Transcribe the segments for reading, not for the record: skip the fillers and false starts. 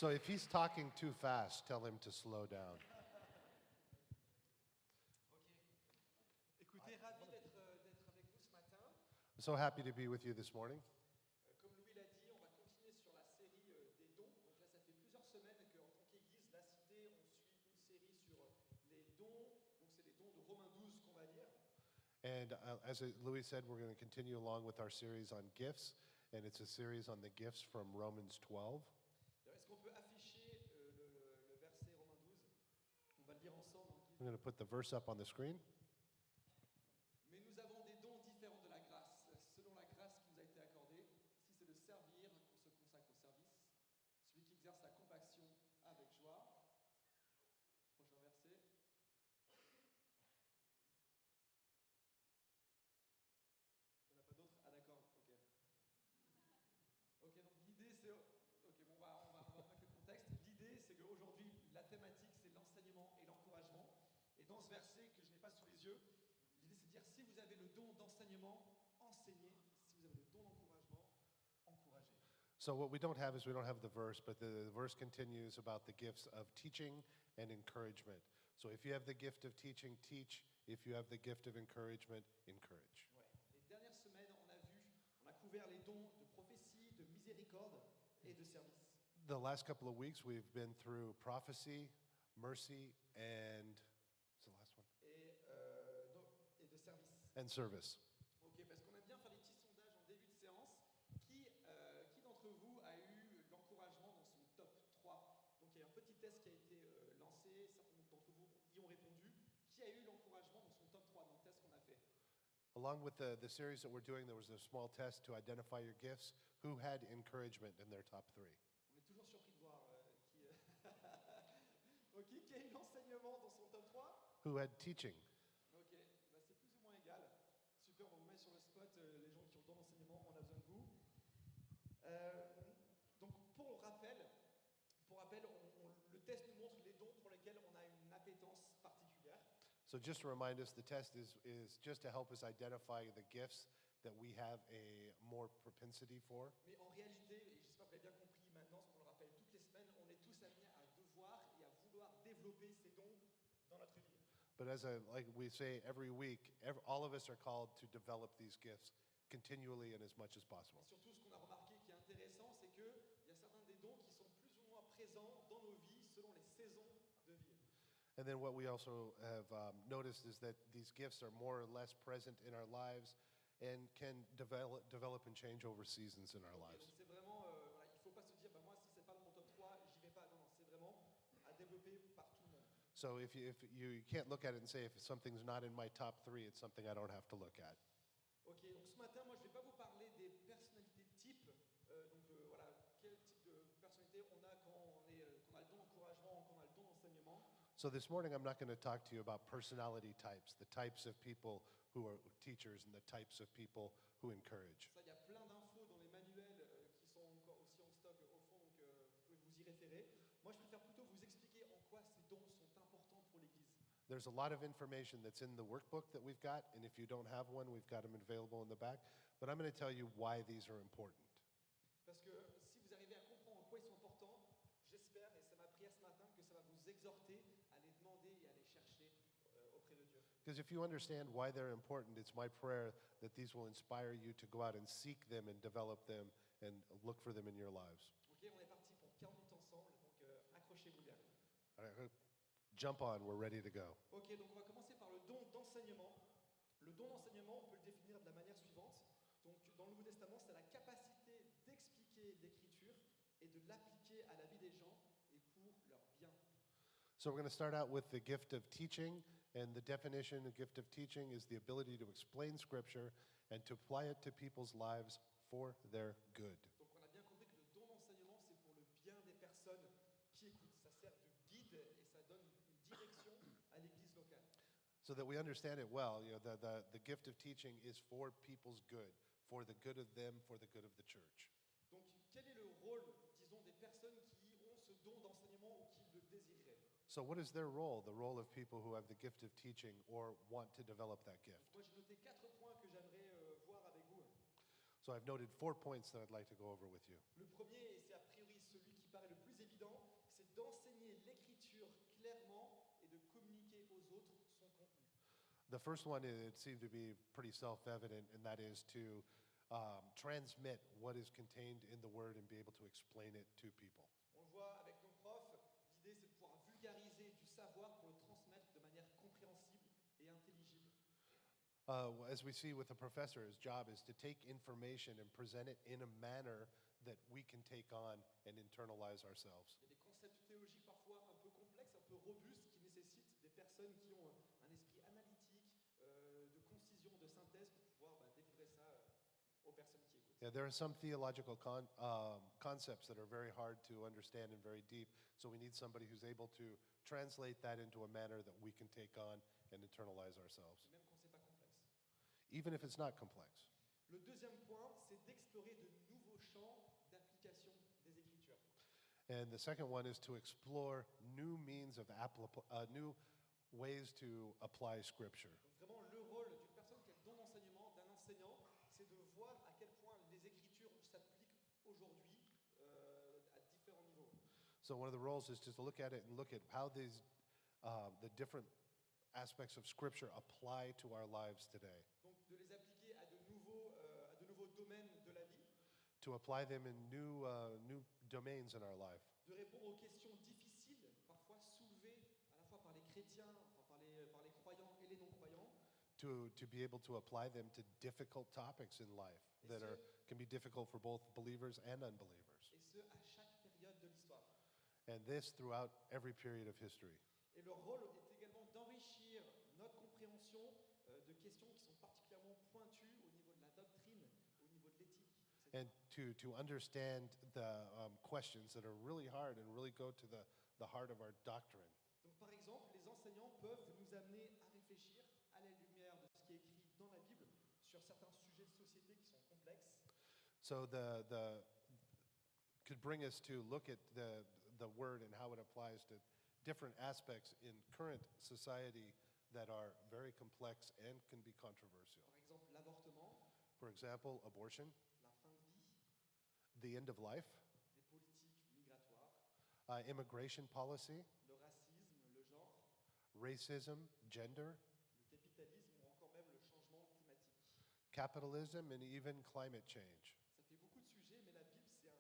So if he's talking too fast, tell him to slow down. Ok. Écoutez, ravi d'être avec vous ce matin. I'm so happy to be with you this morning. Comme Louis l'a dit, on va continuer sur la série des dons. Donc là, ça fait plusieurs semaines qu'en tant qu'Église, la Cité, on suit une série sur les dons. Donc c'est les dons de Romains 12 qu'on va lire. And as Louis said, we're going to continue along with our series on gifts, and it's a series on the gifts from Romans 12. Alors, est-ce qu'on peut afficher le verset Romains 12? On va le lire ensemble. I'm going to put the verse up on the screen. Mais nous avons des dons différents de la grâce, selon la grâce qui nous a été accordée. Si c'est de servir, qu'on se consacre au service. Celui qui exerce la compassion avec joie. Prochain verset. Il n'y en a pas d'autres? Ah d'accord, ok. Ok, donc l'idée c'est... Ok, bon, on va remettre le contexte. L'idée c'est qu'aujourd'hui, la thématique c'est l'enseignement et l'encouragement. Et dans ce verset que je n'ai pas sous les yeux, l'idée c'est de dire si vous avez le don d'enseignement, enseignez. Si vous avez le don d'encouragement, encouragez. So what we don't have is we don't have the verse, but the verse continues about the gifts of teaching and encouragement. So if you have the gift of teaching, teach. If you have the gift of encouragement, encourage. Ouais. Les dernières semaines, on a couvert les dons de prophétie, de miséricorde et de service. The last couple of weeks, we've been through prophecy, mercy, and what's the last one? Et de service. And service. Ok, parce qu'on aime bien faire des petits sondages en début de séance. Qui d'entre vous a eu l'encouragement dans son top 3? Donc il y a un petit test qui a été lancé, certains d'entre vous y ont répondu. Qui a eu l'encouragement dans son top 3 dans le test qu'on a fait? Along with the series that we're doing, there was a small test to identify your gifts. Who had encouragement in their top 3? On est toujours surpris de voir qui... Ok, qui a eu l'enseignement dans son top 3? Who had teaching? Ok, bah c'est plus ou moins égal. Super, on va vous mettre sur le spot, les gens qui ont le don d'enseignement, on a besoin de vous. Donc pour rappel, le test nous montre les dons pour lesquels on a une appétence particulière. So just to remind us, the test is just to help us identify the gifts that we have a more propensity for. Mais en réalité, et j'espère que vous l'avez bien compris maintenant, ce qu'on le rappelle toutes les semaines, on est tous amenés à devoir et à vouloir développer ces dons dans notre vie. But like we say every week, all of us are called to develop these gifts continually and as much as possible. Et surtout, ce qu'on a remarqué qui est intéressant, c'est qu'il y a certains des dons qui sont plus ou moins présents dans nos vies selon les saisons de vie. And then what we also have noticed is that these gifts are more or less present in our lives and can develop and change over seasons in our Donc lives. c'est vraiment, voilà, il ne faut pas se dire, bah, moi si c'est pas dans mon top 3, j'y vais pas. Non, c'est vraiment à développer par tout le monde. So if you can't look at it and say if something's not in my top 3, it's something I don't have to look at. Ok, donc ce matin, moi je ne vais pas vous parler des personnalités types. Voilà, quel type de personnalité on a quand on a le don d'encouragement, quand on a le don d'enseignement. So this morning I'm not going to talk to you about personality types, the types of people who are teachers and the types of people who encourage. Ça, il y a plein d'infos dans les manuels qui sont encore aussi en stock au fond, donc vous pouvez vous y référer. Moi, je préfère plutôt vous expliquer en quoi ces dons sont importants pour l'Église. There's a lot of information that's in the workbook that we've got, and if you don't have one, we've got them available in the back. But I'm going to tell you why these are important. Parce que si vous arrivez à comprendre en quoi ils sont importants, j'espère, et c'est ma prière ce matin, que ça va vous exhorter à les demander et à les chercher auprès de Dieu. Because if you understand why they're important, it's my prayer that these will inspire you to go out and seek them and develop them and look for them in your lives. Ok, on est parti pour 40 minutes ensemble, donc accrochez-vous bien. All right, jump on, we're ready to go. Ok, donc on va commencer par le don d'enseignement. Le don d'enseignement, on peut le définir de la manière suivante. Donc dans le Nouveau Testament, c'est la capacité d'expliquer l'Écriture et de l'appliquer à la vie des gens et pour leur bien. So we're going to start out with the gift of teaching, and the definition of gift of teaching is the ability to explain Scripture and to apply it to people's lives for their good. Donc on a bien compris que le don d'enseignement, c'est pour le bien des personnes qui écoutent. Ça sert de guide et ça donne une direction à l'Église locale. So that we understand it well, the gift of teaching is for people's good, for the good of them, for the good of the church. Donc quel est le rôle, disons, des personnes qui ont ce don d'enseignement ou qui le désireraient? So what is their role, the role of people who have the gift of teaching or want to develop that gift? Moi j'ai noté 4 points que j'aimerais voir avec vous. So I've noted 4 points that I'd like to go over with you. Le premier, et c'est a priori celui qui paraît le plus évident, c'est d'enseigner l'écriture clairement et de communiquer aux autres son contenu. The first one, it seemed to be pretty self-evident, and that is to transmit what is contained in the Word and be able to explain it to people. On le voit avec nos profs, l'idée c'est de pouvoir vulgariser du savoir pour le transmettre de manière compréhensible et intelligible. As we see with the professor, his job is to take information and present it in a manner that we can take on and internalize ourselves. Il y a des concepts théologiques parfois un peu complexes, un peu robustes, qui nécessitent des personnes qui ont un esprit analytique, de concision, de synthèse pour pouvoir délivrer ça aux personnes qui écoutent. Yeah, there are some theological concepts that are very hard to understand and very deep, so we need somebody who's able to translate that into a manner that we can take on and internalize ourselves, Et même quand c'est pas complexe. even if it's not complex. Le deuxième point, c'est d'explorer de nouveaux champs d'application des Écritures. And the second one is to explore new means of new ways to apply Scripture. Donc vraiment, le rôle d'une personne qui a le don d'enseignement, d'un enseignant, c'est de voir à quel point les Écritures s'appliquent aujourd'hui à différents niveaux. So one of the roles is just to look at it and look at how these the different aspects of Scripture apply to our lives today. Donc de les appliquer à de nouveaux domaines de la vie, To apply them in new domains in our life. de répondre aux questions difficiles, parfois soulevées à la fois par les chrétiens, enfin par les croyants et les non-croyants, To be able to apply them to difficult topics in life that can be difficult for both believers and unbelievers. et ce, à chaque période de l'histoire. And this throughout every period of history. Et leur rôle est également d'enrichir notre compréhension de questions qui sont particulièrement pointues au niveau de la doctrine, au niveau de l'éthique, etc. And to understand the questions that are really hard and really go to the heart of our doctrine. Donc par exemple, les enseignants peuvent nous amener à réfléchir à la lumière de ce qui est écrit dans la Bible sur certains sujets de société qui sont complexes. So could bring us to look at the word and how it applies to different aspects in current society that are very complex and can be controversial. Par exemple, l'avortement, For example, abortion, la fin de vie, the end of life, des politiques migratoires, immigration policy, le racisme, le genre, racism, gender, le capitalisme ou encore même le changement climatique. capitalism, and even climate change. Ça fait beaucoup de sujets, mais la Bible, c'est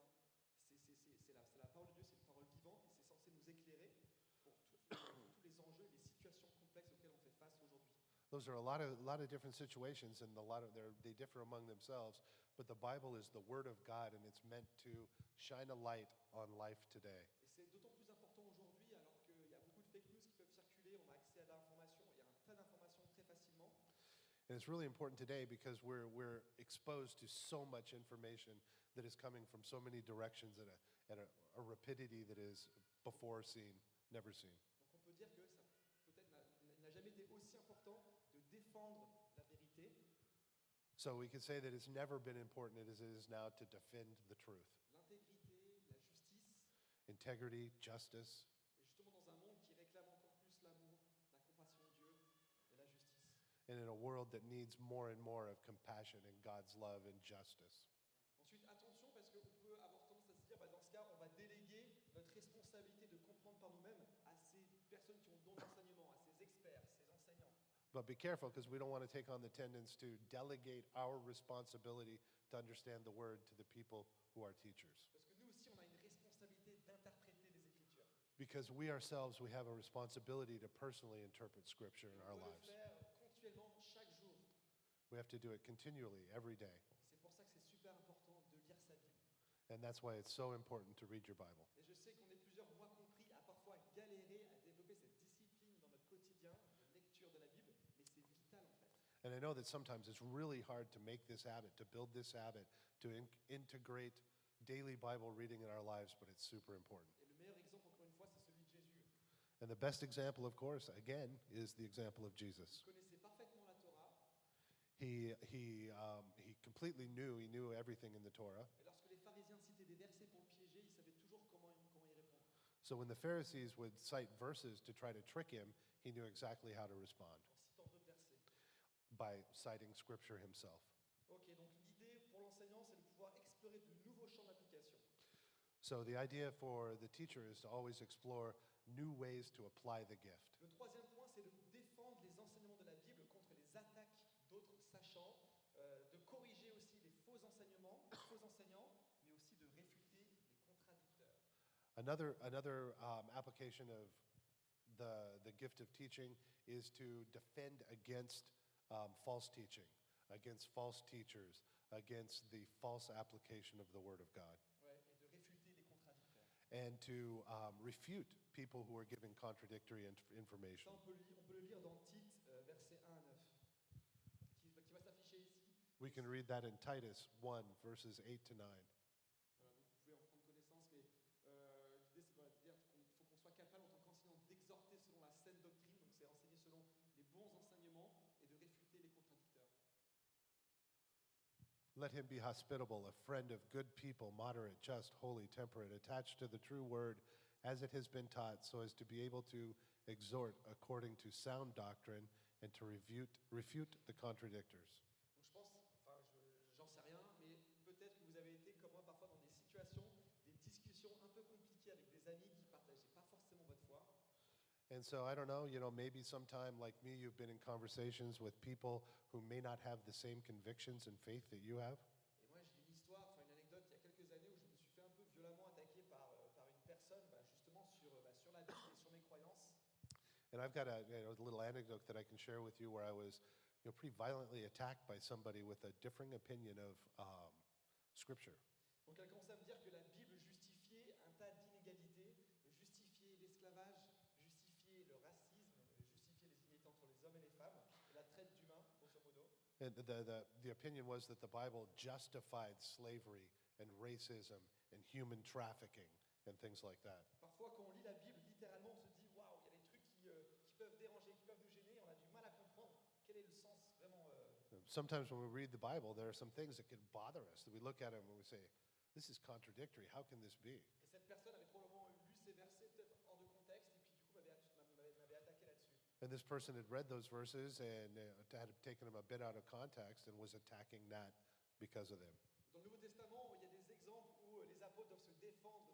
la parole de Dieu, c'est une parole vivante et c'est censé nous éclairer pour tous les enjeux et les situations complexes auxquelles on fait face aujourd'hui. Those are a lot of different situations, and they differ among themselves. But the Bible is the Word of God, and it's meant to shine a light on life today. Et c'est d'autant plus important aujourd'hui alors qu'il y a beaucoup de fake news qui peuvent circuler, on a accès à l'information, il y a un tas d'informations très facilement. And it's really important today because we're exposed to so much information that is coming from so many directions at a rapidity that is before seen, never seen. Donc on peut dire que ça peut-être n'a jamais été aussi important de défendre la vérité, So we could say that it's never been important as it is now to defend the truth. l'intégrité, la justice, Integrity, justice, et justement dans un monde qui réclame encore plus l'amour, la compassion de Dieu et la justice. and in a world that needs more and more of compassion and God's love and justice. Ensuite, attention parce qu'on peut avoir tendance à se dire, dans ce cas, on va déléguer notre responsabilité de comprendre par nous-mêmes à ces personnes qui ont le don d'enseignement, à ces experts, ces enseignants. But be careful because we don't want to take on the tendency to delegate our responsibility to understand the word to the people who are teachers. Parce que nous aussi, on a une responsabilité d'interpréter les Écritures. Because we ourselves, we have a responsibility to personally interpret Scripture in our On doit lives. le faire continuellement, chaque jour. We have to do it continually, every day. Et c'est pour ça que c'est super important de lire sa Bible. And that's why it's so important to read your Bible. Et je sais qu'on est plusieurs, moi compris, à parfois galérer à développer cette discipline dans notre quotidien de lecture de la Bible, mais c'est vital en fait. And I know that sometimes it's really hard to make this habit, to build this habit, to integrate daily Bible reading in our lives, but it's super important. Et le meilleur exemple, encore une fois, c'est celui de Jésus. And the best example, of course, again, is the example of Jesus. Il connaissait parfaitement la Torah, He completely knew, he knew everything in the Torah. et lorsque les pharisiens citaient des versets pour le piéger, il savait toujours comment y répondre. So when the Pharisees would cite verses to try to trick him, he knew exactly how to respond En citant d'autres versets. by citing Scripture himself. Ok, donc l'idée pour l'enseignement l'enseignant, c'est de pouvoir explorer de nouveaux champs d'application. So the idea for the teacher is to always explore new ways to apply the gift. Le troisième point, c'est de défendre les enseignements de la Bible contre les attaques d'autres sachants, de corriger aussi les faux enseignements, les faux enseignants, mais aussi de réfuter les contradicteurs. Another application of the gift of teaching is to defend against false teaching, against false teachers, against the false application of the Word of God, Ouais, et de réfuter les contradicteurs. and to refute people who are giving contradictory Ça, information. on peut le lire dans Tite, versets 1 à 9, qui va s'afficher ici. We can read that in Titus 1, verses 8 to 9. Voilà, donc vous pouvez en prendre connaissance, mais l'idée c'est voilà, de dire qu'il faut qu'on soit capable en tant qu'enseignant d'exhorter selon la saine doctrine, donc c'est enseigner selon les bons enseignements et de réfuter les contradicteurs. Let him be hospitable, a friend of good people, moderate, just, holy, temperate, attached to the true word as it has been taught, so as to be able to exhort according to sound doctrine and to refute the contradictors. Donc je pense, enfin j'en sais rien, mais peut-être que vous avez été comme moi parfois dans des situations, des discussions un peu compliquées avec des amis qui ne partageaient pas forcément votre foi. And so I don't know, maybe sometime like me, you've been in conversations with people who may not have the same convictions and faith that you have. Et moi j'ai une histoire, enfin une anecdote il y a quelques années où je me suis fait un peu violemment attaquer par une personne justement sur la Bible et sur mes croyances. And I've got a little anecdote that I can share with you where I was pretty violently attacked by somebody with a differing opinion of Scripture. Donc elle commençait à me dire que la Bible justifiait un tas d'inégalités, justifiait l'esclavage, justifiait le racisme, justifiait les inégalités entre les hommes et les femmes, et la traite d'humains, grosso modo. And the opinion was that the Bible justified slavery and racism and human trafficking and things like that. Parfois, quand on lit la Bible, littéralement, on se dit waouh, il y a des trucs qui peuvent déranger, qui peuvent nous gêner, on a du mal à comprendre quel est le sens vraiment. Sometimes when we read the Bible, there are some things that can bother us, that we look at them and we say, this is contradictory. How can this be? Et cette personne avait probablement lu ces versets peut-être hors de contexte, et puis du coup m'avait attaqué là-dessus. And this person had read those verses and had taken them a bit out of context and was attacking that because of them. Dans le Nouveau Testament, il y a des exemples où les apôtres doivent se défendre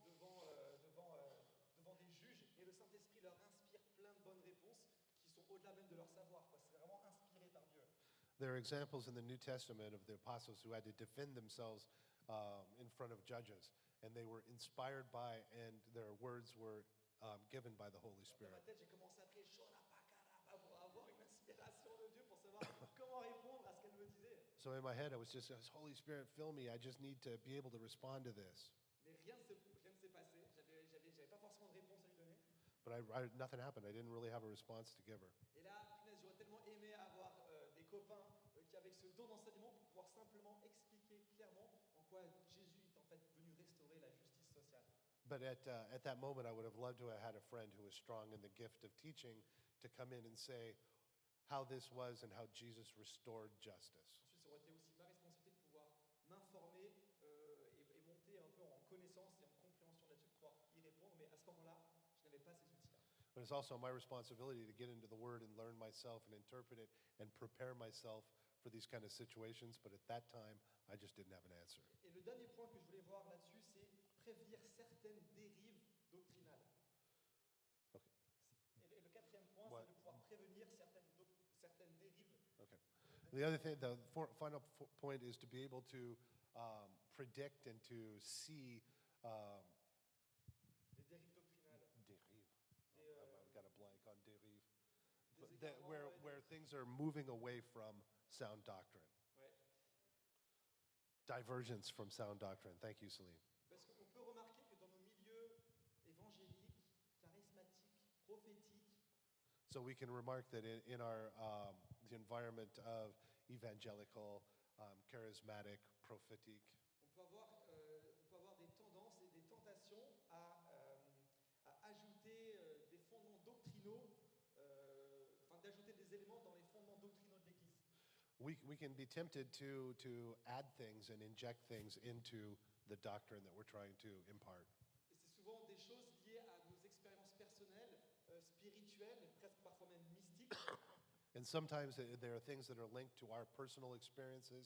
devant des juges, et le Saint-Esprit leur inspire plein de bonnes réponses qui sont au-delà même de leur savoir. C'est vraiment inspiré par Dieu. There are examples in the New Testament of the apostles who had to defend themselves in front of judges, and they were inspired by, and their words were given by the Holy Dans Spirit. ma tête, j'ai commencé à prier Shona Pakarapa pour avoir une inspiration de Dieu, pour savoir comment répondre à ce qu'elle me disait. So in my head, I was just, Holy Spirit, fill me. I just need to be able to respond to this. Mais rien ne s'est passé. J'avais pas forcément de réponse à lui donner. But nothing happened. I didn't really have a response to give her. Et là, punaise, j'aurais tellement aimé avoir des copains qui avaient ce don d'enseignement pour pouvoir simplement expliquer clairement en quoi Jésus est en fait venu restaurer la justice sociale. But at that moment, I would have loved to have had a friend who was strong in the gift of teaching to come in and say how this was and how Jesus restored justice. Ensuite, ça aurait été aussi ma responsabilité de pouvoir m'informer et monter un peu en connaissance et en compréhension là-dessus pour pouvoir y répondre. Mais à ce moment-là, je n'avais pas ces outils-là. But it's also my responsibility to get into the Word and learn myself and interpret it and prepare myself for these kind of situations. But at that time, I just didn't have an answer. Et le dernier point que je voulais voir là-dessus, c'est prévenir certaines dérives doctrinales. Okay. Et le quatrième point, What? c'est de pouvoir prévenir certaines dérives. Okay. The other thing, the final point is to be able to predict and to see Des dérives doctrinales. dérive. Des, I've got a blank on dérive. des But that égarements et where things are moving away from sound doctrine. Ouais. Divergence from sound doctrine. Thank you, Celine. Parce qu'on peut remarquer que dans nos milieux évangéliques, charismatiques, prophétiques, So we can remark that in our the environment of evangelical, charismatic, prophetic, on peut avoir des tendances et des tentations à ajouter des fondements doctrinaux, d'ajouter des éléments dans les fondements doctrinaux de l'Église. we can be tempted to add things and inject things into the doctrine that we're trying to impart. Et c'est souvent des choses liées à nos expériences personnelles, spirituelles, et presque parfois même mystiques. And sometimes there are things that are linked to our personal experiences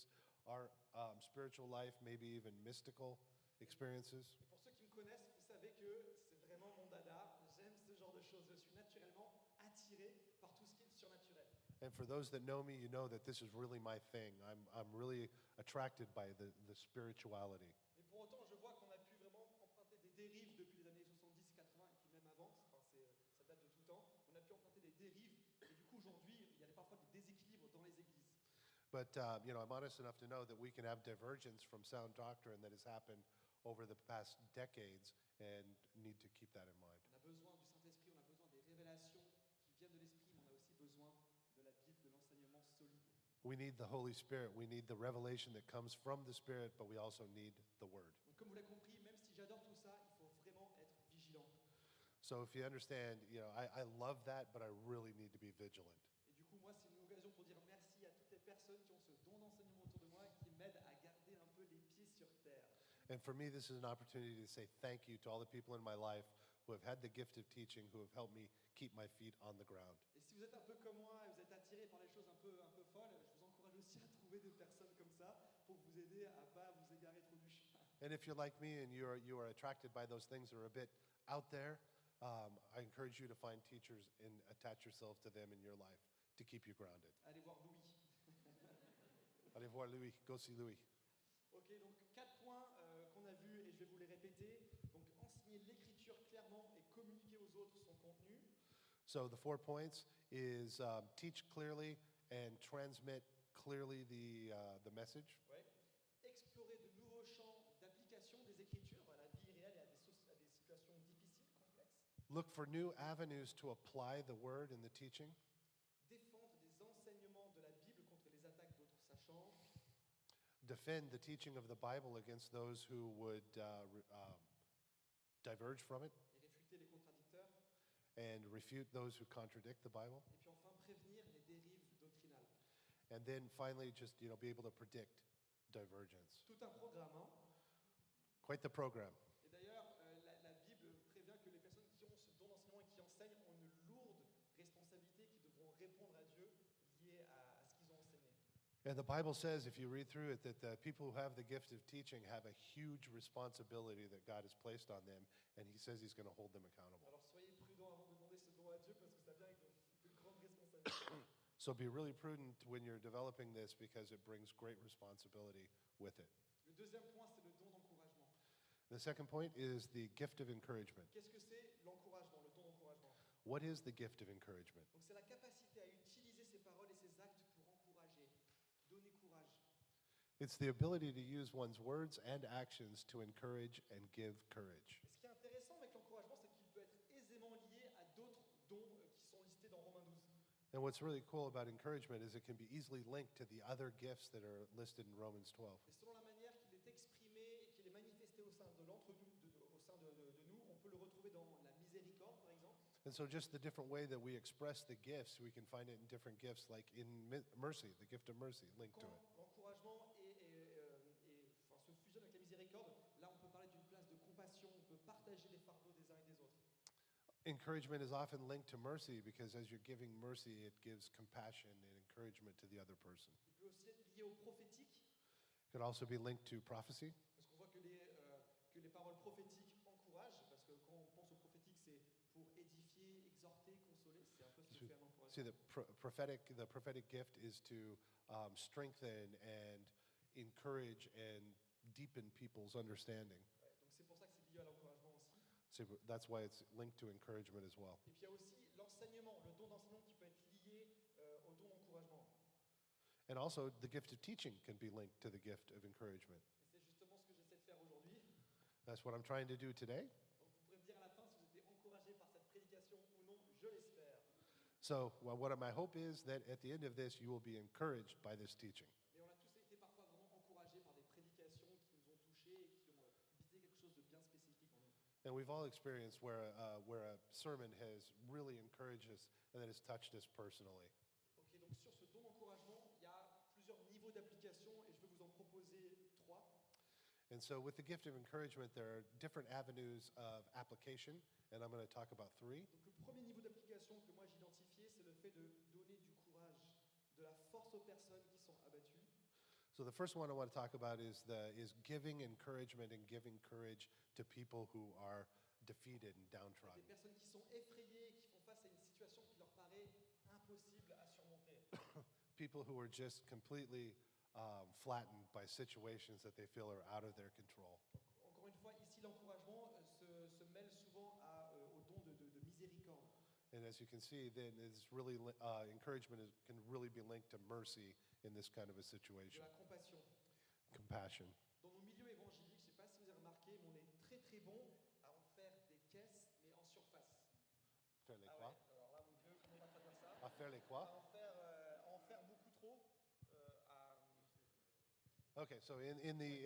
our spiritual life, maybe even mystical experiences. Et pour ceux qui me connaissent, vous savez que c'est vraiment mon dada. J'aime ce genre de choses. Je suis naturellement attiré par tout ce qui est surnaturel. And for those that know me, you know that this is really my thing. I'm really attracted by the spirituality. Mais pour autant, je vois qu'on a pu vraiment emprunter des dérives depuis les années 70, 80 et puis même avant. Enfin, ça date de tout temps. On a pu emprunter des dérives et du coup aujourd'hui, il y a parfois des déséquilibres dans les églises. But I'm honest enough to know that we can have divergence from sound doctrine that has happened over the past decades and need to keep that in mind. On a besoin du Saint-Esprit, on a besoin des révélations qui viennent de l'Esprit, mais on a aussi besoin de la Bible, de l'enseignement solide. We need the Holy Spirit. We need the revelation that comes from the Spirit, but we also need the Word. Donc, comme vous l'avez compris, même si j'adore tout ça, il faut vraiment être vigilant. So if you understand, I love that, but I really need to be vigilant. Et du coup, moi, c'est une occasion pour dire merci à toutes les personnes qui ont ce don d'enseignement autour de moi et qui m'aident à garder un peu les pieds sur terre. And for me, this is an opportunity to say thank you to all the people in my life who have had the gift of teaching, who have helped me keep my feet on the ground. Et si vous êtes un peu comme moi et vous êtes attiré par les choses un peu folles, je vous encourage aussi à trouver des personnes comme ça pour vous aider à pas vous égarer trop du chemin. And if you're like me and you are attracted by those things that are a bit out there, I encourage you to find teachers and attach yourself to them in your life to keep you grounded. Allez voir Louis. Allez voir Louis, go see Louis. Ok, donc 4 points qu'on a vus et je vais vous les répéter. Donc enseigner l'écriture clairement et communiquer aux autres son contenu. So the 4 points is teach clearly and transmit clearly the message. Ouais. Explorer de nouveaux champs d'application des écritures à la vie réelle et à des situations difficiles, complexes. Look for new avenues to apply the word and the teaching. Défendre des enseignements de la Bible contre les attaques d'autres sachants. Defend the teaching of the Bible against those who would diverge from it, Et réfuter les contradicteurs. and refute those who contradict the Bible. Et puis enfin prévenir les dérives doctrinales. And then finally, just be able to predict divergence. Tout un programme, hein. Quite the program. Et d'ailleurs, la Bible prévient que les personnes qui ont ce don d'enseignement et qui enseignent ont une lourde responsabilité, qui devront répondre à Dieu liée à ce qu'ils ont enseigné. And the Bible says, if you read through it, that the people who have the gift of teaching have a huge responsibility that God has placed on them, and He says He's going to hold them accountable. Alors soyez prudents avant de demander ce don à Dieu parce que ça vient avec de grandes responsabilités. So be really prudent when you're developing this because it brings great responsibility with it. Le deuxième point, c'est le don d'encouragement. The second point is the gift of encouragement. Qu'est-ce que c'est l'encouragement, le don d'encouragement? What is the gift of encouragement? Donc c'est la capacité à utiliser ses paroles et ses actes pour encourager, donner courage. It's the ability to use one's words and actions to encourage and give courage. Et ce qui est intéressant avec l'encouragement, c'est qu'il peut être aisément lié à d'autres dons qui sont listés dans Romains 12. And what's really cool about encouragement is it can be easily linked to the other gifts that are listed in Romans 12. Et selon la manière qu'il est exprimé et qu'il est manifesté au sein de l'entre nous, au sein de nous, on peut le retrouver dans la miséricorde, par exemple. And so just the different way that we express the gifts, we can find it in different gifts, like in mercy, the gift of mercy linked to Quand it. l'encouragement se fusionne avec la miséricorde, là on peut parler d'une place de compassion, on peut partager les fardeaux des uns et des autres. Encouragement is often linked to mercy because as you're giving mercy, it gives compassion and encouragement to the other person. Il peut aussi être lié au prophétique, It could also be linked to prophecy parce qu'on voit que les paroles prophétiques encouragent, parce que quand on pense au prophétique, c'est pour édifier, exhorter, consoler, c'est un peu ce que fait un encouragement. See, the prophetic gift is to strengthen and encourage and deepen people's understanding. Ouais, donc c'est pour ça que c'est lié à l'encouragement aussi. So that's why it's linked to encouragement as well. Et puis il y a aussi l'enseignement, le don d'enseignement qui peut être lié au don d'encouragement. And also, the gift of teaching can be linked to the gift of encouragement. Et c'est justement ce que j'essaie de faire aujourd'hui. That's what I'm trying to do today. Donc vous pourrez me dire à la fin si vous étiez encouragé par cette prédication ou non, je l'espère. So, my hope is that at the end of this, you will be encouraged by this teaching. Mais on a tous été parfois vraiment encouragés par des prédications qui nous ont touchés et qui ont visé quelque chose de bien spécifique en nous. And we've all experienced where a sermon has really encouraged us and that has touched us personally. Ok, donc sur ce don d'encouragement, il y a plusieurs niveaux d'application et je vais vous en proposer 3. And so, with the gift of encouragement, there are different avenues of application, and I'm going to talk about 3. Donc le premier niveau d'application que moi j'ai identifié, c'est le fait de donner du courage, de la force aux personnes qui sont abattues. So the first one I want to talk about is giving encouragement and giving courage to people who are defeated and Des downtrodden. personnes qui sont effrayées, qui font face à une situation qui leur paraît impossible à surmonter. People who are just completely flattened by situations that they feel are out of their control. Encore une fois, ici, l'encouragement se mêle souvent au don de miséricorde. And as you can see, then it's really encouragement can really be linked to mercy in this kind of a De situation, la compassion. compassion. Dans nos milieux évangéliques, je ne sais pas si vous avez remarqué, mais on est très très bon à en faire des caisses, mais en surface. Faire les Ah quoi? ouais, alors là, mon Dieu, comment on va traduire ça? À faire les quoi? À en faire beaucoup trop. Okay, so in the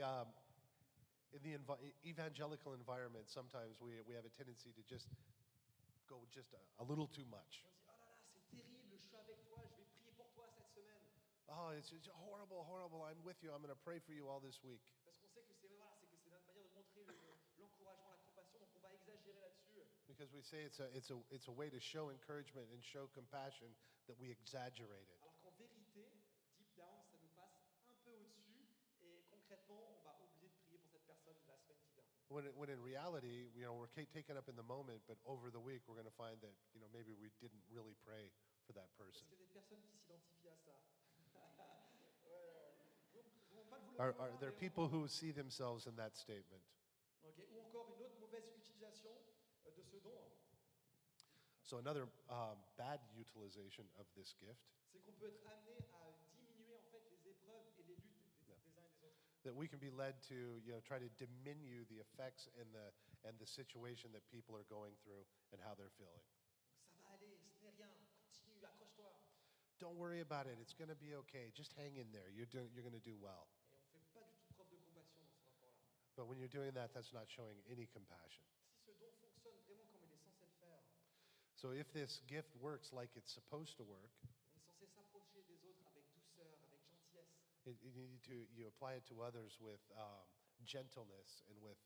evangelical environment, sometimes we have a tendency to just go just a little too much. On dit, oh là là, c'est terrible, je suis avec toi, je vais prier pour toi cette semaine. Oh, it's just horrible, horrible. I'm with you. I'm going to pray for you all this week. Parce qu'on sait que c'est voilà, c'est notre manière de montrer l'encouragement, la compassion, donc on va exagérer là-dessus. Because we say it's a way to show encouragement and show compassion that we exaggerate it. Alors qu'en vérité, deep down, ça nous passe un peu au-dessus et concrètement, on va oublier de prier pour cette personne la semaine qui vient. When in reality, we're taken up in the moment, but over the week, we're going to find that, maybe we didn't really pray for that Est-ce person. qu'il y a des personnes qui s'identifient à ça? Ouais. Vous vont pas le vouloir, Are there mais people who see themselves in that statement? Ok. Ou encore une autre mauvaise utilisation de ce don, So another bad utilization of this gift, c'est qu'on peut être amené à diminuer en fait les épreuves et les luttes des uns et des autres. that we can be led to, try to diminish the effects and the situation that people are going through and how they're feeling. Donc ça va aller, ce n'est rien, continue, accroche-toi. Don't worry about it. It's going to be okay. Just hang in there. You're going to do well. Et on ne fait pas du tout preuve de compassion dans ce rapport-là. But when you're doing that, that's not showing any compassion. Si ce don fonctionne vraiment comme il est censé le faire, So if this gift works like it's supposed to work, on est censé s'approcher des autres avec douceur, avec gentillesse. you apply it to others with gentleness and with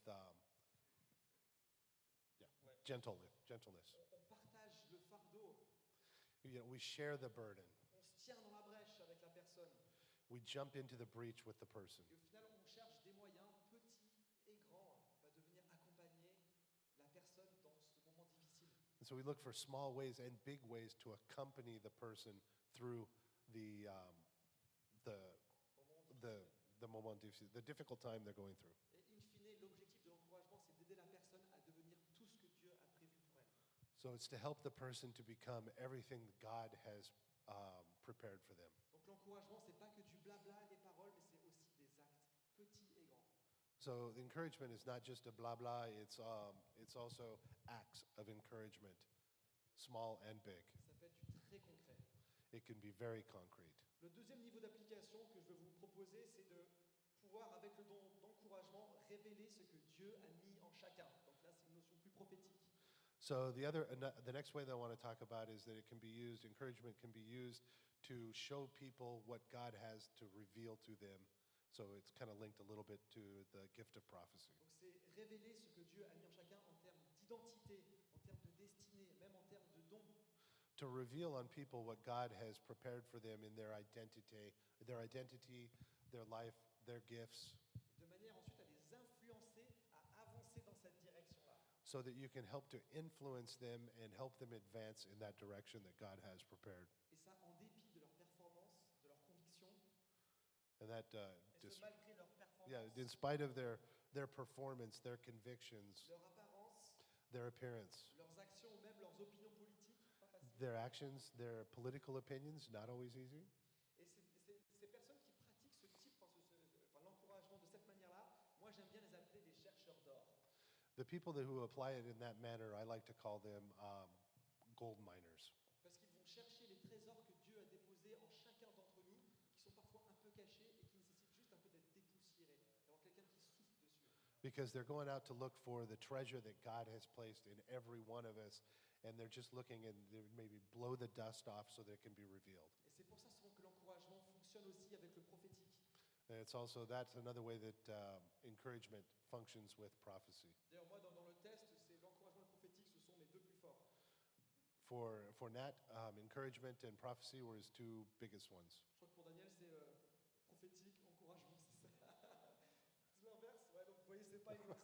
gentleness. On partage le fardeau, We share the burden. on se tient dans la brèche avec la personne. We jump into the breach with the person. Et au final, on cherche des moyens, petits et grands, de venir accompagner la personne dans ce moment difficile. And so we look for small ways and big ways to accompany the person through the moment difficile, the difficult time they're going through. Et in fine, l'objectif de l'encouragement, c'est d'aider la personne à devenir tout ce que Dieu a prévu pour elle. So it's to help the person to become everything that God has prepared for them. Donc l'encouragement, c'est pas que du blabla, des paroles, mais c'est aussi des actes, petits et grands. So the encouragement is not just a blah blah. It's also acts of encouragement, small and big. Ça peut être du très concret. It can be very concrete. Le deuxième niveau d'application que je veux vous proposer, c'est de pouvoir, avec le don d'encouragement, révéler ce que Dieu a mis en chacun. Donc là, c'est une notion plus prophétique. So the next way that I want to talk about is that it can be used. Encouragement can be used to show people what God has to reveal to them. So it's kind of linked a little bit to the gift of prophecy. Donc c'est révéler ce que Dieu a mis en chacun en termes d'identité, en termes de destinée, même en termes de don. To reveal on people what God has prepared for them in their identity, their life, their gifts, Et de manière ensuite à les influencer à avancer dans cette direction-là. so that you can help to influence them and help them advance in that direction that God has prepared. Et ça en dépit de leur performance, de leurs convictions, And that, et ce malgré leur performance, yeah, in spite of their performance, their convictions, leur apparence, their appearance, leurs actions ou même leurs opinions politiques, pas facile. their actions, their political opinions, not always easy. Et ces personnes qui pratiquent ce type, l'encouragement de cette manière-là, moi j'aime bien les appeler les chercheurs d'or. The people who apply it in that manner, I like to call them gold miners. Parce qu'ils vont chercher les trésors que Dieu a déposés en chacun d'entre nous, qui sont parfois un peu cachés et qui nécessitent juste un peu d'être dépoussiérés, d'avoir quelqu'un qui souffle dessus. Because they're going out to look for the treasure that God has placed in every one of us, and they're just looking and they maybe blow the dust off so that it can be revealed. Et c'est pour ça souvent que l'encouragement fonctionne aussi avec le prophétique. And that's another way that encouragement functions with prophecy. D'ailleurs, moi, dans le test, c'est l'encouragement et le prophétique, ce sont mes deux plus forts. For Nat, encouragement and prophecy were his two biggest ones. Je crois que pour Daniel, c'est prophétique, encouragement. c'est pas une,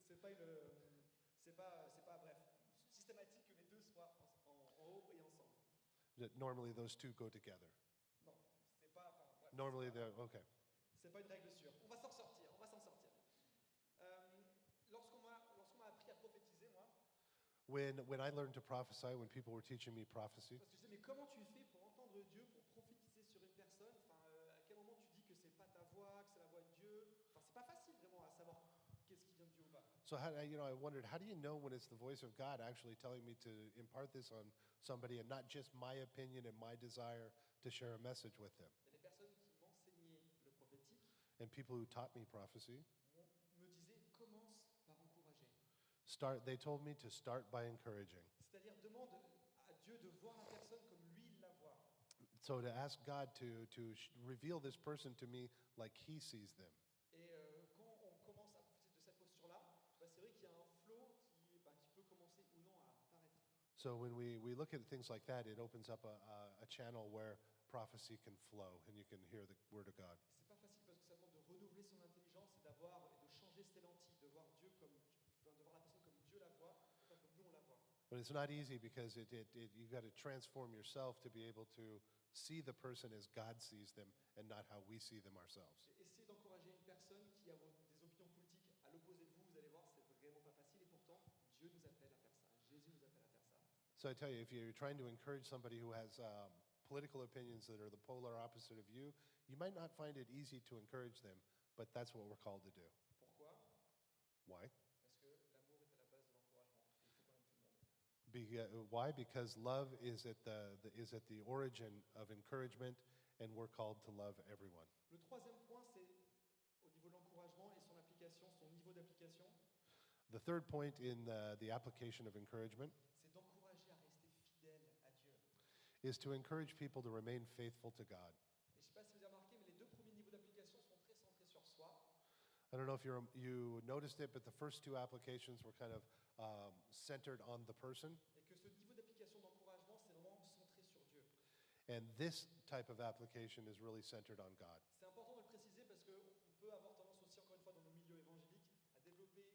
c'est pas bref, systématique que les deux soient en haut et ensemble. That normally those two go together. Non, c'est pas, enfin, bref, Normally they're okay. c'est pas une règle sûre. On va s'en sortir, on va s'en sortir. Lorsqu'on m'a appris à prophétiser, moi, When I learned to prophesy, when people were teaching me prophecy, parce que je disais, mais comment tu fais pour entendre Dieu, pour prophétiser sur une personne? Enfin, à quel moment tu dis que c'est pas ta voix, que c'est la voix de Dieu? Enfin, c'est pas facile vraiment à savoir qu'est-ce qui vient de Dieu ou pas. so I wondered, how do you know when it's the voice of God actually telling me to impart this on somebody and not just my opinion and my desire to share a message with them? Et les personnes qui m'enseignaient le prophétique And people who taught me prophecy me disaient, commence par encourager. they told me to start by encouraging. C'est-à-dire, demande à Dieu de voir la personne comme lui il la voit. So to ask God to reveal this person to me like he sees them. Et quand on commence à profiter de cette posture-là, bah, c'est vrai qu'il y a un flow qui peut commencer ou non à apparaître. So when we look at things like that, it opens up a channel where prophecy can flow and you can hear the word of God. C'est pas facile parce que ça demande de renouveler son intelligence et de changer ses lentilles, de voir Dieu comme, de voir la personne comme Dieu la voit, et pas comme nous on la voit. But it's not easy because you got to transform yourself to be able to see the person as God sees them and not how we see them ourselves. Et essayez d'encourager une personne qui a des opinions politiques à l'opposé de vous, vous allez voir, c'est vraiment pas facile et pourtant Dieu nous appelle à faire ça, Jésus nous appelle à faire ça. So I tell you, if you're trying to encourage somebody who has political opinions that are the polar opposite of you, you might not find it easy to encourage them, but that's what we're called to do. Pourquoi? Why? Parce que l'amour est à la base de l'encouragement. Il faut qu'on aime tout le monde. Why? Because love is at the origin of encouragement, and we're called to love everyone. Le troisième point, c'est au niveau de l'encouragement et son application, son niveau d'application, The third point in the application of encouragement c'est d'encourager à rester fidèle à Dieu. is to encourage people to remain faithful to God. Et je ne sais pas si vous avez remarqué, mais les deux premiers niveaux d'application sont très centrés sur soi. I don't know if you noticed it, but the first two applications were kind of centered on the person. Et que ce niveau d'application d'encouragement, c'est vraiment centré sur Dieu. And this type of application is really centered on God. C'est important de le préciser parce qu'on peut avoir tendance aussi, encore une fois, dans nos milieux évangéliques, à développer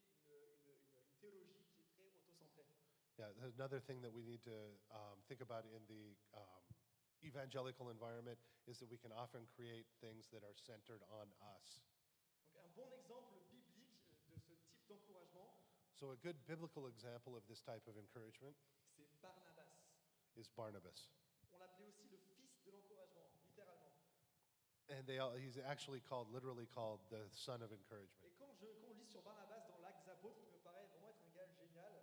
une théologie qui est très autocentrée. Yeah, another thing that we need to think about in the evangelical environment is that we can often create things that are centered on us. Donc un bon exemple biblique de ce type d'encouragement, So a good biblical example of this type of encouragement c'est Barnabas. is Barnabas. On l'appelait aussi le fils de l'encouragement, littéralement. And he's actually literally called the son of encouragement. Et quand on lit sur Barnabas dans l'Acte des Apôtres, il me paraît vraiment être un gars génial.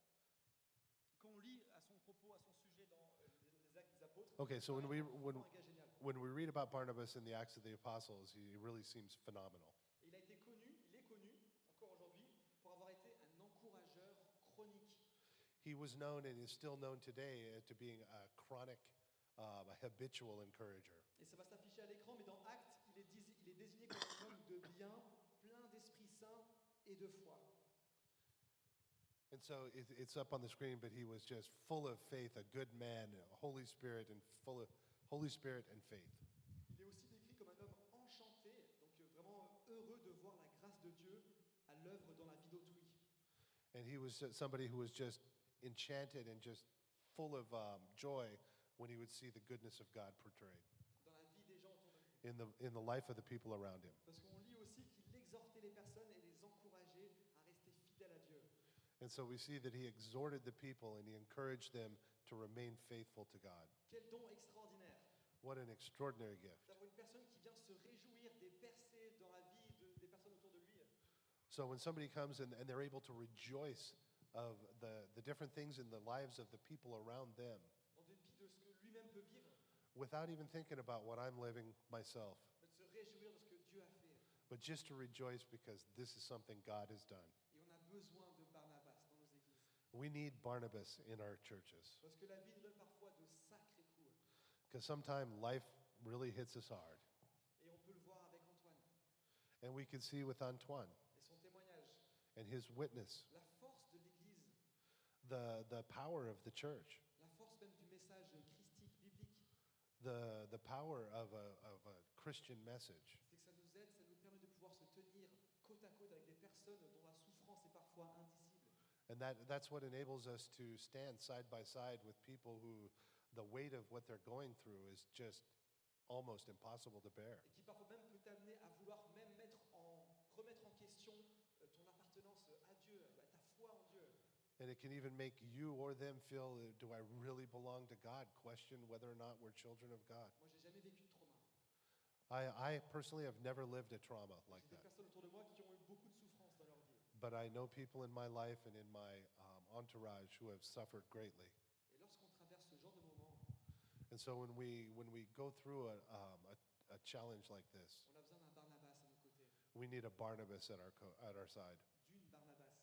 Quand on lit à son propos, à son sujet dans les Actes des Apôtres, Okay, so il me paraît vraiment un gars génial. when we read about Barnabas in the Acts of the Apostles, he really seems phenomenal. Et il est connu, encore aujourd'hui, pour avoir été un encourageur chronique. He was known and is still known today to being a chronic, a habitual encourager. Et ça va s'afficher à l'écran, mais dans Actes, il est désigné comme un homme de bien, plein d'Esprit Saint et de foi. And so it's up on the screen, but he was just full of faith, a good man, Holy Spirit, and full of Holy Spirit and faith. Il est aussi décrit comme un homme enchanté, donc vraiment heureux de voir la grâce de Dieu à l'œuvre dans la vie d'autrui. And he was somebody who was just enchanted and just full of joy when he would see the goodness of God portrayed Dans la vie des gens autour de lui. in the life of the people around him. Parce qu'on lit aussi qu'il exhortait les personnes et les encourageait à rester fidèles à Dieu. And so we see that he exhorted the people and he encouraged them to remain faithful to God. Quel don extraordinaire What an extraordinary gift. d'avoir une personne qui vient se réjouir des percées dans la vie des personnes autour de lui. So when somebody comes and they're able to rejoice of the different things in the lives of the people around them En dépit de ce que lui-même peut vivre, without even thinking about what I'm living myself, mais de se réjouir de ce que Dieu a fait. but just to rejoice because this is something God has done. Et on a besoin de Barnabas dans nos églises. We need Barnabas in our churches Parce que la vie nous donne parfois de sacrés coups. because sometimes life really hits us hard. Et on peut le voir avec Antoine And we can see with Antoine et son témoignage. and his witness, La force de l'Église, the power of the church, la force même du message christique, biblique, the power of a Christian message. c'est que ça nous aide, ça nous permet de pouvoir se tenir côte à côte avec des personnes dont la parfois indicibles. And that's what enables us to stand side by side with people who the weight of what they're going through is just almost impossible to bear. Et qui parfois même peut t'amener à vouloir même remettre en question ton appartenance à Dieu, ta foi en Dieu. And it can even make you or them feel, do I really belong to God? Question whether or not we're children of God. Moi, j'ai jamais vécu de trauma. I personally have never lived a trauma like J'ai des that. personnes autour de moi qui ont eu beaucoup de souffrance dans leur vie. But I know people in my life and in my entourage who have suffered greatly. Et lorsqu'on traverse ce genre de moment, And so when we go through a challenge like this, on a besoin d'un Barnabas à nos côtés, we need a Barnabas at our side, d'une Barnabas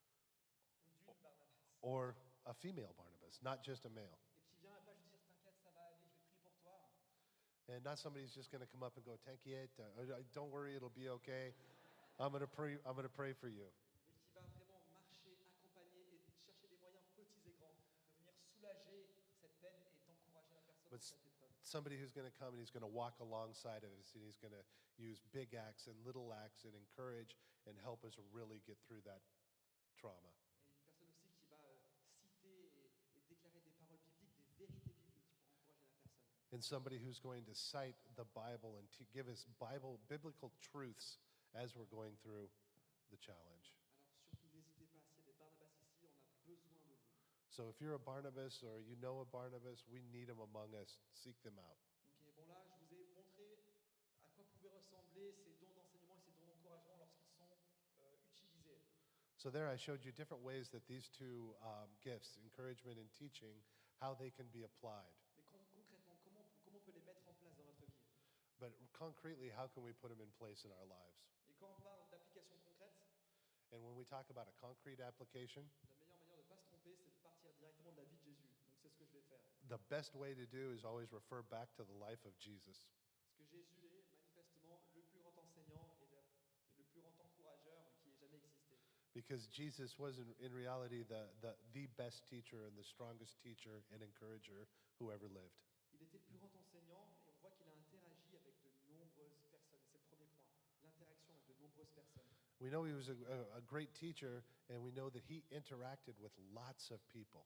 ou d'une Barnabas, or a female Barnabas, not just a male. et qui vient pas juste dire t'inquiète, ça va aller, je vais prier pour toi, And not somebody who's just going to come up and go, "T'inquiète, don't worry, it'll be okay. I'm going to pray. I'm going to pray for you." mais qui va vraiment marcher, accompagner et chercher des moyens petits et grands de venir soulager cette peine et d'encourager la personne But dans cette épreuve. Somebody who's going to come and he's going to walk alongside of us and he's going to use big acts and little acts and encourage and help us really get through that trauma. Et une personne aussi qui va citer et déclarer des paroles bibliques, des vérités bibliques pour encourager la personne. And somebody who's going to cite the Bible and to give us biblical truths as we're going through the challenge. Alors surtout n'hésitez pas, s'il y a des Barnabas ici, on a besoin de vous. So if you're a Barnabas or you know a Barnabas, we need them among us. Seek them out. Ok, bon là, je vous ai montré à quoi pouvaient ressembler ces dons d'enseignement et ces dons d'encouragement lorsqu'ils sont utilisés. So there I showed you different ways that these two gifts, encouragement and teaching, how they can be applied. Mais concrètement, comment on peut les mettre en place dans notre vie? But concretely, how can we put them in place in our lives? Et quand on parle d'application concrète, And when we talk about a concrete application, la meilleure manière de ne pas se tromper, c'est de partir directement de la vie de Jésus. Donc c'est ce que je vais faire. the best way to do is always refer back to the life of Jesus. Parce que Jésus est manifestement le plus grand enseignant et le plus grand encourageur qui ait jamais existé. Because Jesus was in reality the best teacher and the strongest teacher and encourager who ever lived. Il était le plus grand enseignant et on voit qu'il a interagi avec de nombreuses personnes. Et c'est le premier point, l'interaction avec de nombreuses personnes. We know he was a great teacher, and we know that he interacted with lots of people,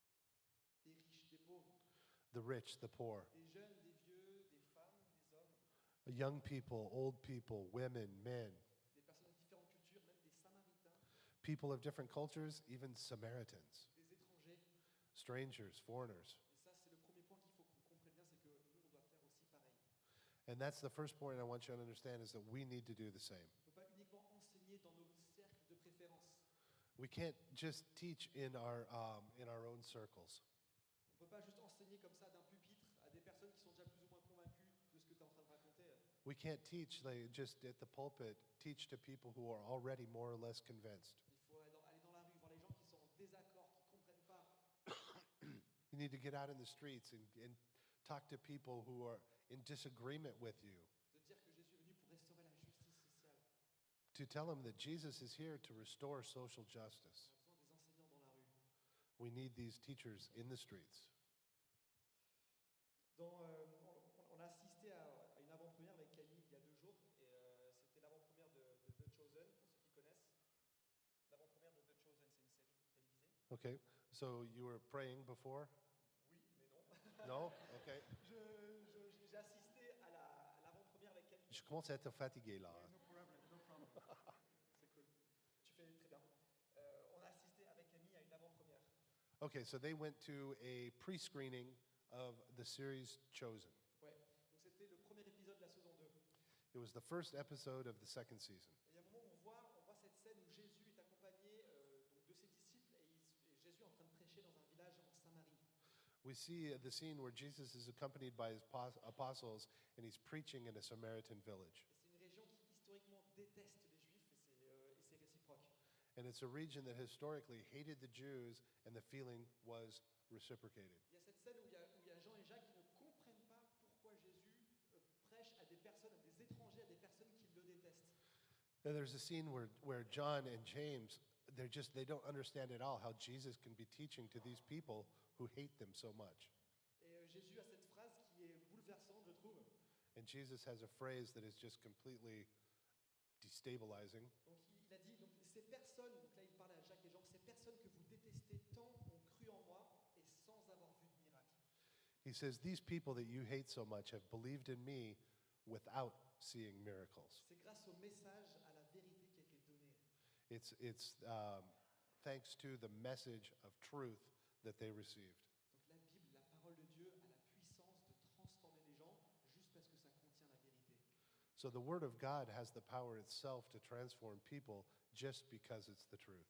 Des riches, des pauvres, the rich, the poor, des jeunes, des vieux, des femmes, des hommes, young people, old people, women, men, des personnes de différentes cultures, même des Samaritains, people of different cultures, even Samaritans, des étrangers. strangers, foreigners. Et ça, c'est le premier point qu'il faut qu'on comprenne bien, c'est que nous, on doit faire aussi pareil. And that's the first point I want you to understand is that we need to do the same. On ne peut pas uniquement enseigner dans nos cercles de préférence. We can't just teach in our own circles. On ne peut pas juste enseigner comme ça d'un pupitre à des personnes qui sont déjà plus ou moins convaincues de ce que tu es en train de raconter. We can't teach like, just at the pulpit, teach to people who are already more or less convinced. Il faut aller dans la rue, voir les gens qui sont en désaccord, qui ne comprennent pas. You need to get out in the streets and talk to people who are in disagreement with you, De dire que Jésus est venu pour restaurer la justice sociale. to tell them that Jesus is here to restore social justice. On a besoin des enseignants dans la rue. We need these teachers in the streets. On a assisté à une avant-première avec Camille il y a 2 jours, et c'était l'avant-première de The Chosen, pour ceux qui connaissent. L'avant-première de The Chosen, c'est une série télévisée. Okay, so you were praying before? Oui, mais non. No? Okay. J'ai assisté à l'avant-première avec Camille. Je commence à être fatigué là. No problem, no problem. C'est cool. Tu fais très bien. On a assisté avec Camille à une avant-première. Okay, so they went to a pre-screening of the series Chosen. Ouais. Donc c'était le premier épisode de la saison 2. It was the first episode of the second season. Et il y a un moment où on voit cette scène où Jésus est accompagné donc de ses disciples et Jésus est en train de prêcher dans un village en Samarie. We see the scene where Jesus is accompanied by his apostles and he's preaching in a Samaritan village. Et c'est une région qui historiquement déteste les Juifs et c'est réciproque. And it's a region that historically hated the Jews and the feeling was reciprocated. Il y a cette scène où il y a Jean et Jacques qui ne comprennent pas pourquoi Jésus prêche à des personnes, à des étrangers, à des personnes qui le détestent. And there's a scene where John and James, they don't understand at all how Jesus can be teaching to these people who hate them so much. Et Jésus a cette phrase qui est bouleversante, je trouve. And Jesus has a phrase that is just completely destabilizing. Donc il a dit, donc, ces personnes, donc là il parlait à Jacques et Jean, ces personnes que vous détestez tant ont cru en moi et sans avoir vu de miracle. He says, these people that you hate so much have believed in me without seeing miracles. C'est grâce au message, à la vérité qui a été donnée. It's thanks to the message of truth that they received. Donc la Bible, la parole de Dieu, a la puissance de transformer les gens juste parce que ça contient la vérité. So the Word of God has the power itself to transform people just because it's the truth.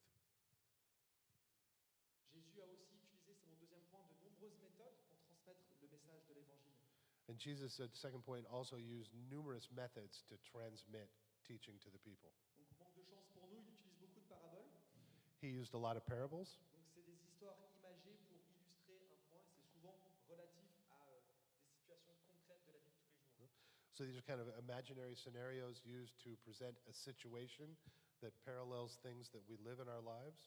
Jésus a aussi utilisé, c'est mon deuxième point, de nombreuses méthodes pour transmettre le message de l'Évangile. And Jesus, at second point, also used numerous methods to transmit teaching to the people. Donc manque de chance pour nous, il utilise beaucoup de paraboles. He used a lot of parables. Donc c'est des histoires imagées pour illustrer un point, et c'est souvent relatif à des situations concrètes de la vie de tous les jours. So these are kind of imaginary scenarios used to present a situation that parallels things that we live in our lives.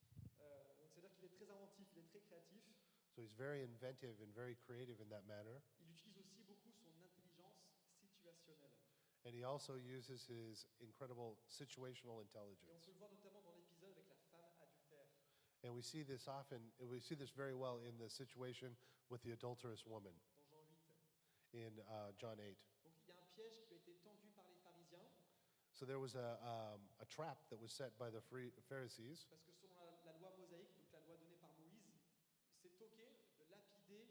Donc c'est-à-dire qu'il est très inventif, il est très créatif. So he's very inventive and very creative in that manner. Il utilise aussi beaucoup son intelligence situationnelle. And he also uses his incredible situational Et on intelligence. peut le voir notamment dans l'épisode avec la femme adultère. And we see this very well in the situation with the adulterous woman Dans Jean 8. in John 8. Donc il y a un piège qui a été tendu par les pharisiens, So there was a trap that was set by the Pharisees, parce que selon la loi mosaïque, donc la loi donnée par Moïse, c'est toqué de lapider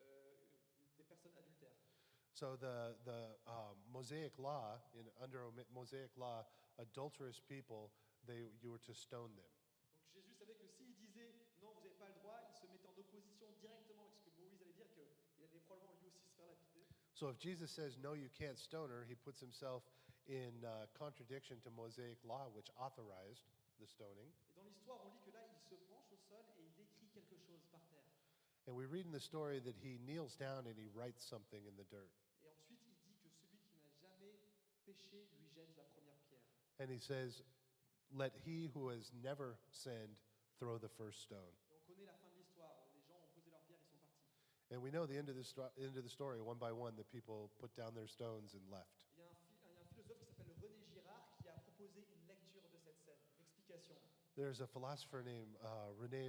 des personnes adultères. So the Mosaic law, under Mosaic law, adulterous people, you were to stone them. Donc Jésus savait que s'il disait non, vous n'avez pas le droit, il se mettait en opposition directement avec ce que Moïse allait dire, qu'il allait probablement lui aussi se faire lapider. So if Jesus says no, you can't stone her, he puts himself in contradiction to Mosaic law, which authorized the stoning. Et dans l'histoire, on lit que là, il se penche au sol et il écrit quelque chose par terre. And we read in the story that he kneels down and he writes something in the dirt. Et ensuite, il dit que celui qui n'a jamais péché lui jette la première pierre. And he says, let he who has never sinned throw the first stone. Et on connaît la fin de l'histoire. Les gens ont posé leurs pierres, ils sont partis. And we know the end of the story. One by one, the people put down their stones and left. Il y a un philosophe qui s'appelle René Girard qui a proposé une lecture de cette scène, une explication. There's a philosopher named René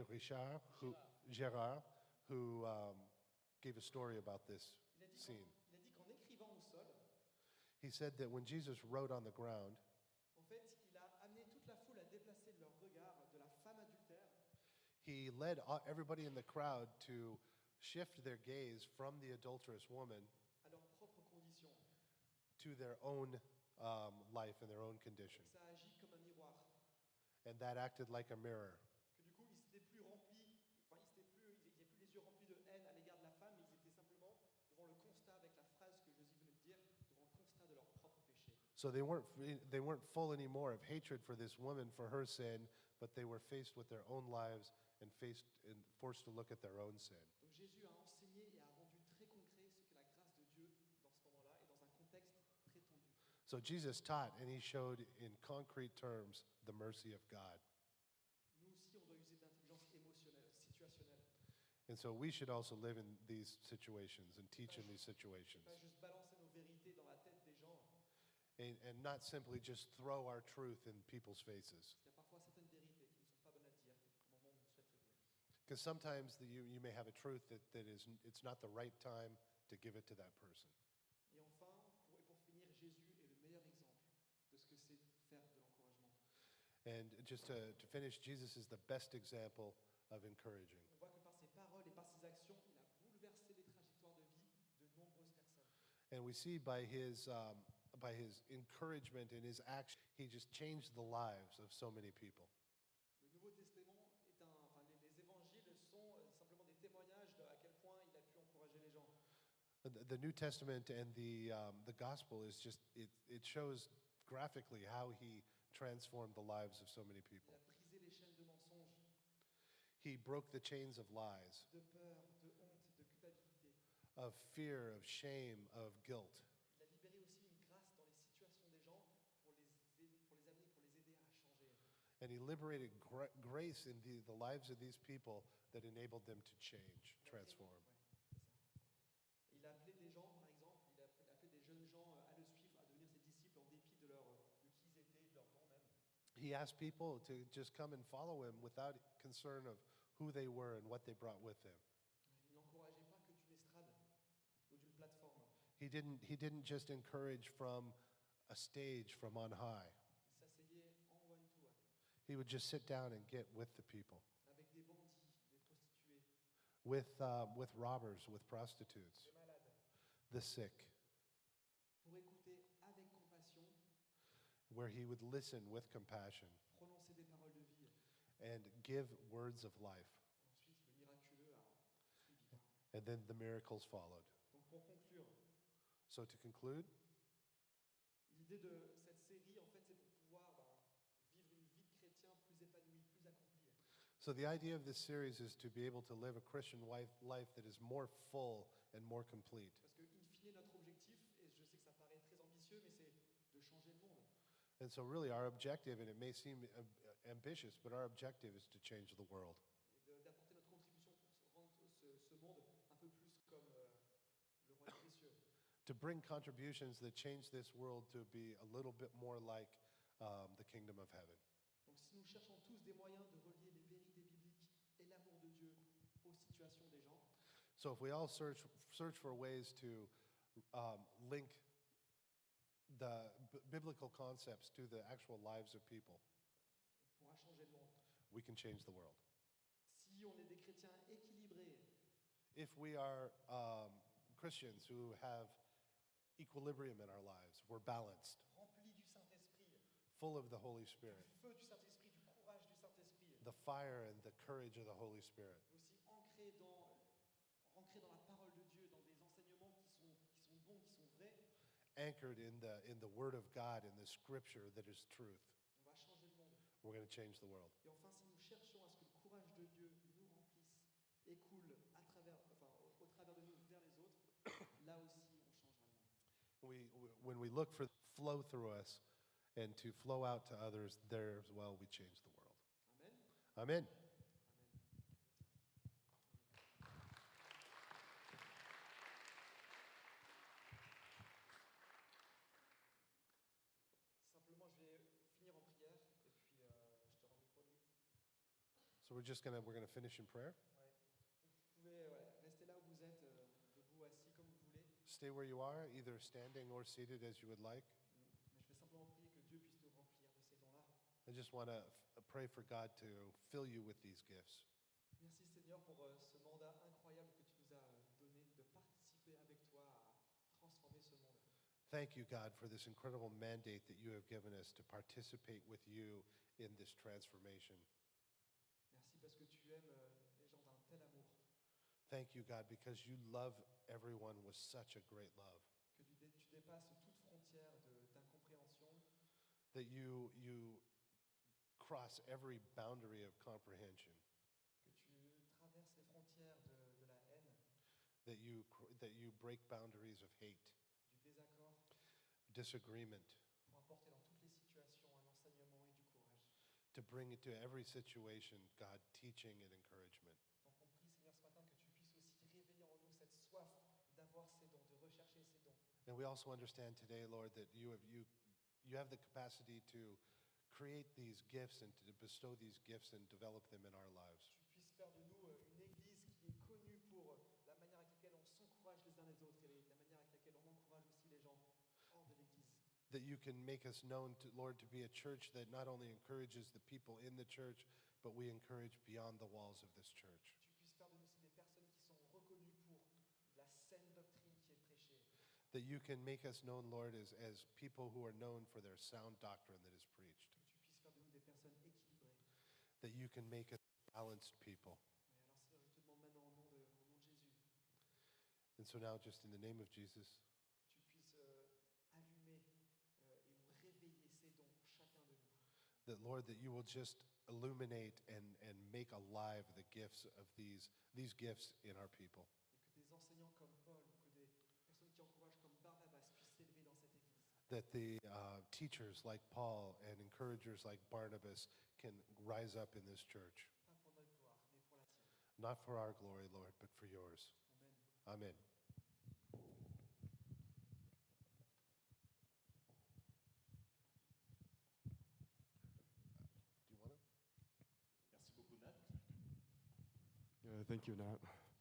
Girard who gave a story about this Il a dit scene. qu'en écrivant au sol, He said that when Jesus wrote on the ground, en fait, il a amené toute la foule à déplacer leur regard de la femme adultère he led everybody in the crowd to shift their gaze from the adulterous woman à leurs propres conditions. to their own life and their own condition. Ça agit comme un miroir. And that acted like a mirror. Que du coup, ils n'étaient plus remplis, enfin, ils n'avaient plus les yeux remplis de haine à l'égard de la femme, mais ils étaient simplement devant le constat, avec la phrase que Jésus venait de dire, devant le constat de leur propre péché. So they weren't full anymore of hatred for this woman for her sin, but they were faced with their own lives and forced to look at their own sin. Donc Jésus a enseigné et a rendu très concret ce que la grâce de Dieu dans ce moment-là et dans un contexte très tendu. So Jesus taught and he showed in concrete terms the mercy of God. Nous aussi, on doit user d'intelligence émotionnelle, situationnelle. And so we should also live in these situations and teach in these situations. Pas juste balancer nos vérités dans la tête des gens, And not simply just throw our truth in people's faces. parce qu'il y a parfois certaines vérités qui ne sont pas bonnes à dire au moment où on souhaite les dire. Because sometimes you may have a truth that it's not the right time to give it to that person. Et enfin, pour finir, Jésus est le meilleur exemple de ce que c'est faire de l'encouragement. And just to finish, Jesus is the best example of encouraging. On voit que par ses paroles et par ses actions, il a bouleversé les trajectoires de vie de nombreuses personnes. And we see by his encouragement and his action, he just changed the lives of so many people. Le Nouveau Testament est les évangiles sont simplement des témoignages de à quel point il a pu encourager les gens. The New Testament and the gospel is just, it shows graphically how he transformed the lives of so many Il people. a brisé les chaînes de mensonges, He broke the chains of lies, de peur, de honte, de culpabilité. of fear, of shame, of guilt. Il a libéré aussi une grâce dans les situations des gens pour les amener, pour les aider à changer. And he liberated grace in the lives of these people that enabled them to change, transform. Ouais, c'est ça. Il a appelé des gens, par exemple, il a appelé des jeunes gens à le suivre, à devenir ses disciples en dépit de qui ils étaient, de leur nom même. he asked people to just come and follow him without concern of who they were and what they brought with them. Il n'encourageait pas que d'une estrade ou d'une plateforme. He didn't just encourage from a stage from on high. Il s'asseyait en one-to-one He would just sit down and get with the people, avec des bandits, des prostituées, with robbers, with prostitutes, des malades, the sick, pour écouter avec compassion, where he would listen with compassion prononcer des paroles de vie. and give words of life. Ensuite, le miraculeux a suivi. And then the miracles followed. Donc pour conclure, So to conclude, l'idée de cette série, en fait, c'est pour pouvoir vivre une vie de chrétien plus épanouie, plus accomplie. so the idea of this series is to be able to live a Christian life that is more full and more complete. Parce que, in fine, notre objectif, et je sais que ça paraît très ambitieux, mais c'est de changer le monde. And so really our objective, and it may seem ambitious, but our objective is to change the world. Et d'apporter notre contribution pour rendre ce monde un peu plus comme le royaume des cieux. To bring contributions that change this world to be a little bit more like the kingdom of heaven. Donc si nous cherchons tous des moyens de relier les vérités bibliques et l'amour de Dieu aux situations des gens, So if we all search for ways to link the biblical concepts to the actual lives of people, on pourra changer le monde. we can change the world. Si on est des chrétiens équilibrés, If we are Christians who have equilibrium in our lives, we're balanced, remplis du Saint-Esprit, full of the Holy du Spirit, feu du Saint-Esprit, du courage du Saint-Esprit, the fire and the courage of the Holy Spirit, mais aussi ancrés dans la parole de Dieu, dans des enseignements qui sont bons, qui sont vrais, anchored in the Word of God, in the Scripture that is truth, on va changer le monde. we're going to change the world. Et enfin, si nous cherchons à ce que le courage de Dieu nous remplisse et coule au travers de nous vers les autres, là aussi, on changera le monde. When we look for flow through us and to flow out to others, there as well we change the world. Amen. Amen. Amen. Simplement, je vais finir en prière et puis je te rends le micro, Louis. So we're gonna finish in prayer. Ouais. Vous pouvez rester là où vous êtes, debout, assis, comme vous voulez. Stay where you are, either standing or seated as you would like. Mais je vais simplement prier que Dieu puisse te remplir de ces dons-là. I just want to pray for God to fill you with these gifts. Merci Seigneur pour ce mandat incroyable que tu nous as donné de participer avec toi à transformer ce monde. Thank you, God, for this incredible mandate that you have given us to participate with you in this transformation. Merci parce que tu aimes les gens d'un tel amour, Thank you, God, because you love everyone with such a great love. que tu dépasses toute frontière d'incompréhension, That you cross every boundary of comprehension. que tu traverses les frontières de la haine, That you break boundaries of hate, du désaccord, disagreement, pour apporter dans toutes les situations un enseignement et du courage. to bring it to every situation, God, teaching and encouragement. Donc on prie Seigneur ce matin que tu puisses aussi réveiller en nous cette soif d'avoir ces dons, de rechercher ces dons. And we also understand today, Lord, that you have the capacity to create these gifts and to bestow these gifts and develop them in our lives. Tu puisses faire de nous une église qui est connue pour la manière avec laquelle on s'encourage les uns les autres et la manière avec laquelle on encourage aussi les gens hors de l'église. That you can make us known, to, Lord, to be a church that not only encourages the people in the church, but we encourage beyond the walls of this church. Tu puisses faire de nous aussi des personnes qui sont reconnues pour la saine doctrine qui est prêchée. That you can make us known, Lord, as people who are known for their sound doctrine that is preached. Que tu puisses faire de nous des personnes équilibrées. That you can make us balanced people. Ouais, alors Seigneur, je te demande maintenant au nom de Jésus And so now, just in the name of Jesus, que tu puisses allumer et ou réveiller ces dons en chacun de nous. that, Lord, that you will just illuminate and make alive the gifts of these gifts in our people. Et que des enseignants comme Paul ou que des personnes qui encouragent comme Barnabas puissent s'élever dans cette église. That the teachers like Paul and encouragers like Barnabas can rise up in this church. Pas pour notre gloire, mais pour la tienne. Not for our glory, Lord, but for yours. Amen. Amen. Thank you, Nat.